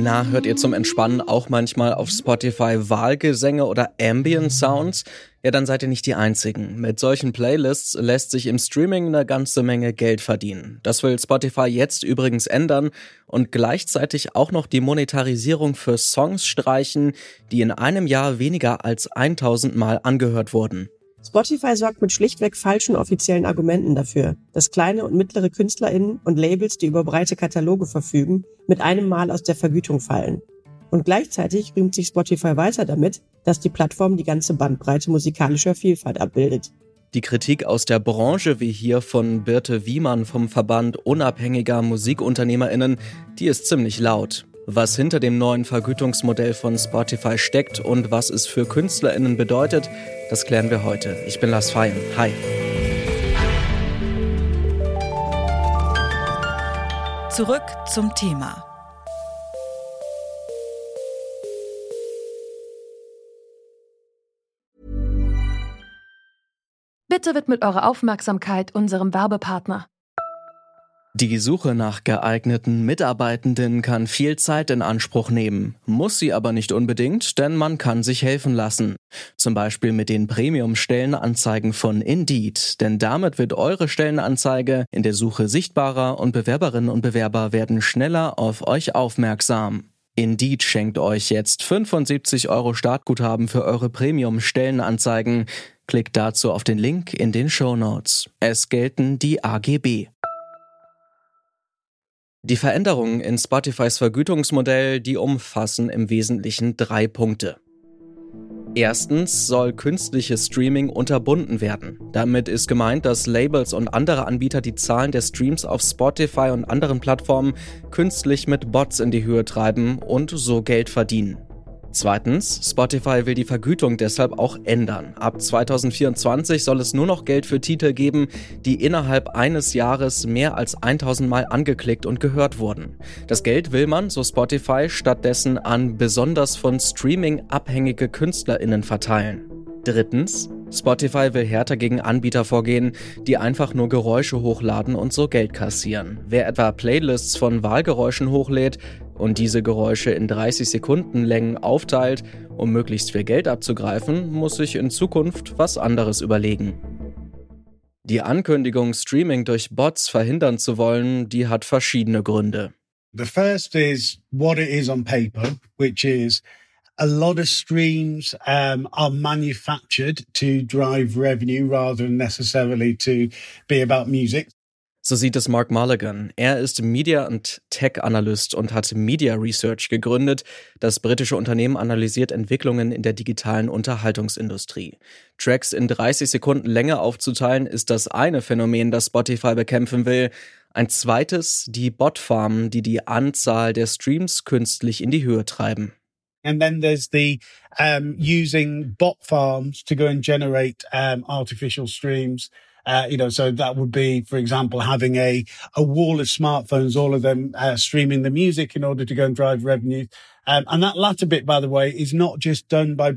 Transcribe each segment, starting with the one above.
Na, hört ihr zum Entspannen auch manchmal auf Spotify Wahlgesänge oder Ambient Sounds? Ja, dann seid ihr nicht die Einzigen. Mit solchen Playlists lässt sich im Streaming eine ganze Menge Geld verdienen. Das will Spotify jetzt übrigens ändern und gleichzeitig auch noch die Monetarisierung für Songs streichen, die in einem Jahr weniger als 1000 Mal angehört wurden. Spotify sorgt mit schlichtweg falschen offiziellen Argumenten dafür, dass kleine und mittlere KünstlerInnen und Labels, die über breite Kataloge verfügen, mit einem Mal aus der Vergütung fallen. Und gleichzeitig rühmt sich Spotify weiter damit, dass die Plattform die ganze Bandbreite musikalischer Vielfalt abbildet. Die Kritik aus der Branche, wie hier von Birte Wiemann vom Verband unabhängiger MusikunternehmerInnen, die ist ziemlich laut. Was hinter dem neuen Vergütungsmodell von Spotify steckt und was es für KünstlerInnen bedeutet, das klären wir heute. Ich bin Lars Feyen. Hi. Zurück zum Thema. Bitte widmet eure Aufmerksamkeit unserem Werbepartner. Die Suche nach geeigneten Mitarbeitenden kann viel Zeit in Anspruch nehmen, muss sie aber nicht unbedingt, denn man kann sich helfen lassen. Zum Beispiel mit den Premium-Stellenanzeigen von Indeed, denn damit wird eure Stellenanzeige in der Suche sichtbarer und Bewerberinnen und Bewerber werden schneller auf euch aufmerksam. Indeed schenkt euch jetzt 75 € Startguthaben für eure Premium-Stellenanzeigen. Klickt dazu auf den Link in den Shownotes. Es gelten die AGB. Die Veränderungen in Spotifys Vergütungsmodell, die umfassen im Wesentlichen 3 Punkte. Erstens soll künstliches Streaming unterbunden werden. Damit ist gemeint, dass Labels und andere Anbieter die Zahlen der Streams auf Spotify und anderen Plattformen künstlich mit Bots in die Höhe treiben und so Geld verdienen. Zweitens, Spotify will die Vergütung deshalb auch ändern. Ab 2024 soll es nur noch Geld für Titel geben, die innerhalb eines Jahres mehr als 1000 Mal angeklickt und gehört wurden. Das Geld will man, so Spotify, stattdessen an besonders von Streaming abhängige KünstlerInnen verteilen. Drittens, Spotify will härter gegen Anbieter vorgehen, die einfach nur Geräusche hochladen und so Geld kassieren. Wer etwa Playlists von Wahlgeräuschen hochlädt und diese Geräusche in 30 Sekunden Längen aufteilt, um möglichst viel Geld abzugreifen, muss sich in Zukunft was anderes überlegen. Die Ankündigung, Streaming durch Bots verhindern zu wollen, die hat verschiedene Gründe. The first is what it is on paper, which is a lot of streams are manufactured to drive revenue rather than necessarily to be about music. So sieht es Mark Mulligan. Er ist Media- und Tech-Analyst und hat Media Research gegründet. Das britische Unternehmen analysiert Entwicklungen in der digitalen Unterhaltungsindustrie. Tracks in 30 Sekunden Länge aufzuteilen, ist das eine Phänomen, das Spotify bekämpfen will. Ein zweites, die Botfarmen, die die Anzahl der Streams künstlich in die Höhe treiben. And then there's the using bot farms to go and generate artificial streams. So that would be, for example, having a wall of smartphones, all of them streaming the music in order to go and drive revenue. And that latter bit, by the way, is not just done by,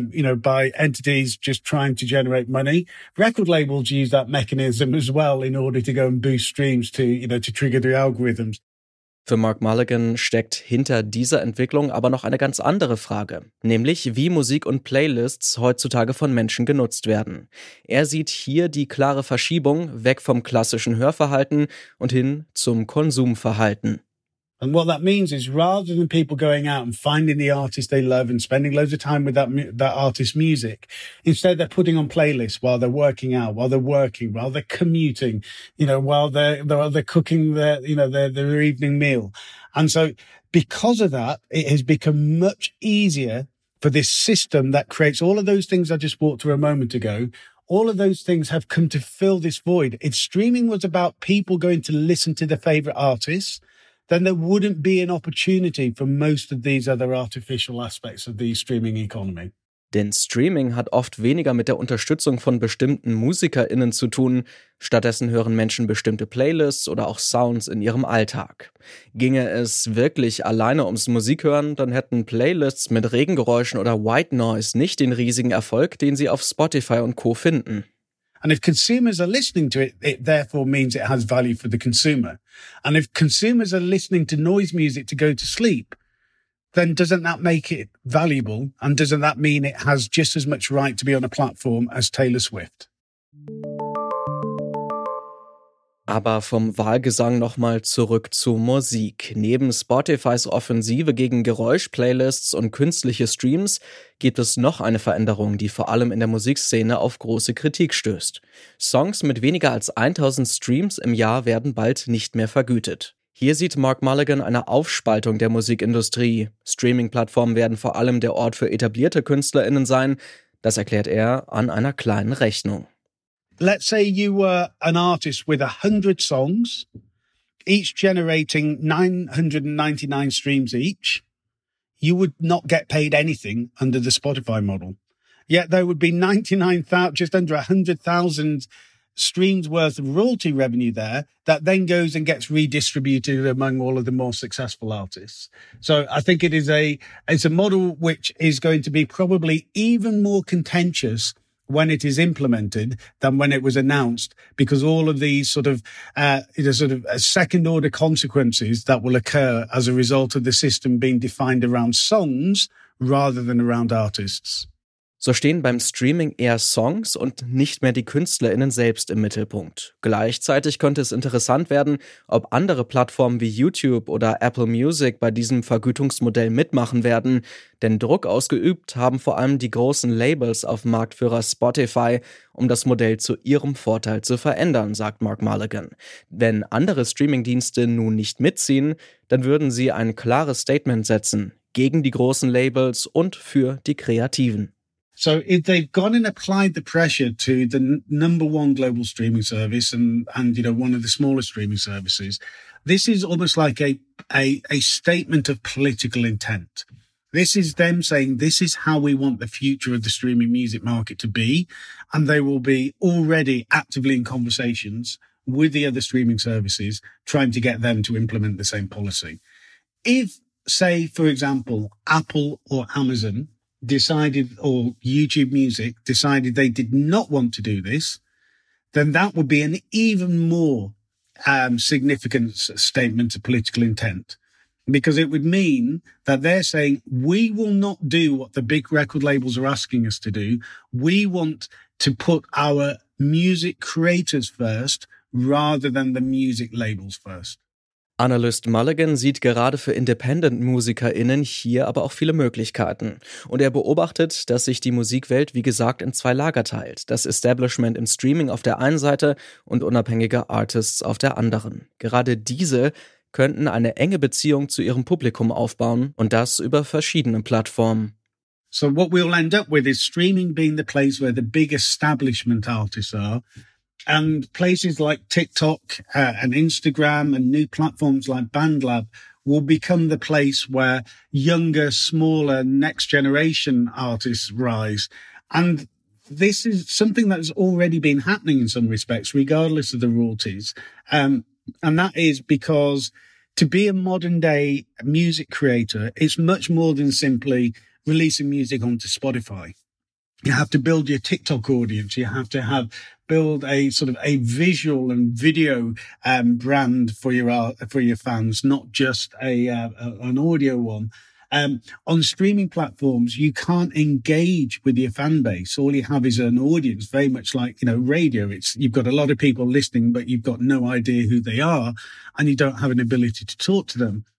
by entities just trying to generate money. Record labels use that mechanism as well in order to go and boost streams to trigger the algorithms. Für Mark Mulligan steckt hinter dieser Entwicklung aber noch eine ganz andere Frage, nämlich wie Musik und Playlists heutzutage von Menschen genutzt werden. Er sieht hier die klare Verschiebung weg vom klassischen Hörverhalten und hin zum Konsumverhalten. And what that means is rather than people going out and finding the artist they love and spending loads of time with that artist's music, instead they're putting on playlists while they're working out, while they're working, while they're commuting, while they're cooking their evening meal. And so because of that, it has become much easier for this system that creates all of those things I just walked through a moment ago. All of those things have come to fill this void. If streaming was about people going to listen to their favorite artists, then there wouldn't be an opportunity for most of these other artificial aspects of the streaming economy. Denn Streaming hat oft weniger mit der Unterstützung von bestimmten MusikerInnen zu tun. Stattdessen hören Menschen bestimmte Playlists oder auch Sounds in ihrem Alltag. Ginge es wirklich alleine ums Musikhören, dann hätten Playlists mit Regengeräuschen oder White Noise nicht den riesigen Erfolg, den sie auf Spotify und Co. finden. And if consumers are listening to it, it therefore means it has value for the consumer. And if consumers are listening to noise music to go to sleep, then doesn't that make it valuable? And doesn't that mean it has just as much right to be on a platform as Taylor Swift? Aber vom Wahlgesang nochmal zurück zu Musik. Neben Spotifys Offensive gegen Geräusch-Playlists und künstliche Streams gibt es noch eine Veränderung, die vor allem in der Musikszene auf große Kritik stößt. Songs mit weniger als 1000 Streams im Jahr werden bald nicht mehr vergütet. Hier sieht Mark Mulligan eine Aufspaltung der Musikindustrie. Streaming-Plattformen werden vor allem der Ort für etablierte KünstlerInnen sein. Das erklärt er an einer kleinen Rechnung. Let's say you were an artist with 100 songs, each generating 999 streams each. You would not get paid anything under the Spotify model. Yet there would be 99,000, just under 100,000 streams worth of royalty revenue there that then goes and gets redistributed among all of the more successful artists. So I think it's a model which is going to be probably even more contentious when it is implemented than when it was announced, because all of these sort of second order consequences that will occur as a result of the system being defined around songs rather than around artists. So stehen beim Streaming eher Songs und nicht mehr die KünstlerInnen selbst im Mittelpunkt. Gleichzeitig könnte es interessant werden, ob andere Plattformen wie YouTube oder Apple Music bei diesem Vergütungsmodell mitmachen werden, denn Druck ausgeübt haben vor allem die großen Labels auf Marktführer Spotify, um das Modell zu ihrem Vorteil zu verändern, sagt Mark Mulligan. Wenn andere Streamingdienste nun nicht mitziehen, dann würden sie ein klares Statement setzen, gegen die großen Labels und für die Kreativen. So if they've gone and applied the pressure to the number one global streaming service and one of the smaller streaming services, this is almost like a statement of political intent. This is them saying this is how we want the future of the streaming music market to be. And they will be already actively in conversations with the other streaming services, trying to get them to implement the same policy. If, say, for example, Apple or Amazon decided, or YouTube Music decided they did not want to do this, then that would be an even more significant statement of political intent, because it would mean that they're saying, we will not do what the big record labels are asking us to do. We want to put our music creators first rather than the music labels first. Analyst Mulligan sieht gerade für Independent-MusikerInnen hier aber auch viele Möglichkeiten. Und er beobachtet, dass sich die Musikwelt, wie gesagt, in zwei Lager teilt. Das Establishment im Streaming auf der einen Seite und unabhängige Artists auf der anderen. Gerade diese könnten eine enge Beziehung zu ihrem Publikum aufbauen und das über verschiedene Plattformen. So what we'll end up with is streaming being the place where the big establishment artists are. And places like TikTok and Instagram and new platforms like BandLab will become the place where younger, smaller, next generation artists rise. And this is something that's already been happening in some respects, regardless of the royalties. And that is because to be a modern day music creator, it's much more than simply releasing music onto Spotify. You have to build your TikTok audience. You have to build a sort of a visual and video brand for your fans, not just an audio one. On streaming platforms, you can't engage with your fan base. All you have is an audience, very much like, radio. You've got a lot of people listening, but you've got no idea who they are, and you don't have an ability to talk to them.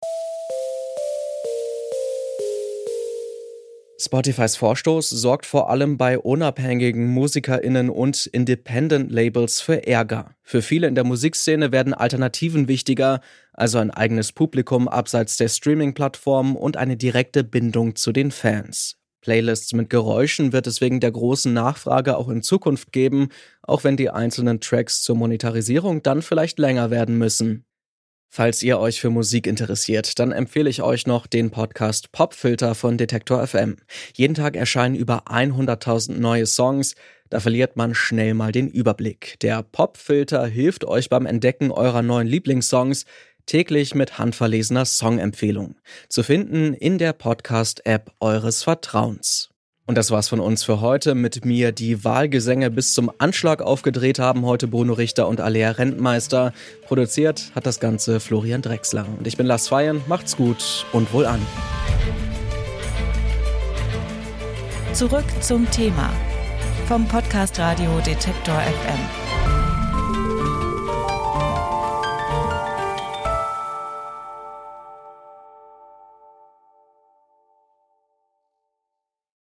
Spotifys Vorstoß sorgt vor allem bei unabhängigen MusikerInnen und Independent-Labels für Ärger. Für viele in der Musikszene werden Alternativen wichtiger, also ein eigenes Publikum abseits der Streaming-Plattformen und eine direkte Bindung zu den Fans. Playlists mit Geräuschen wird es wegen der großen Nachfrage auch in Zukunft geben, auch wenn die einzelnen Tracks zur Monetarisierung dann vielleicht länger werden müssen. Falls ihr euch für Musik interessiert, dann empfehle ich euch noch den Podcast Popfilter von Detektor FM. Jeden Tag erscheinen über 100.000 neue Songs, da verliert man schnell mal den Überblick. Der Popfilter hilft euch beim Entdecken eurer neuen Lieblingssongs, täglich mit handverlesener Songempfehlung. Zu finden in der Podcast-App eures Vertrauens. Und das war's von uns für heute. Mit mir die Wahlgesänge bis zum Anschlag aufgedreht haben heute Bruno Richter und Alea Rentmeister. Produziert hat das Ganze Florian Drexler. Und ich bin Lars Feyen. Macht's gut und wohlan. Zurück zum Thema vom Podcast Radio Detektor FM.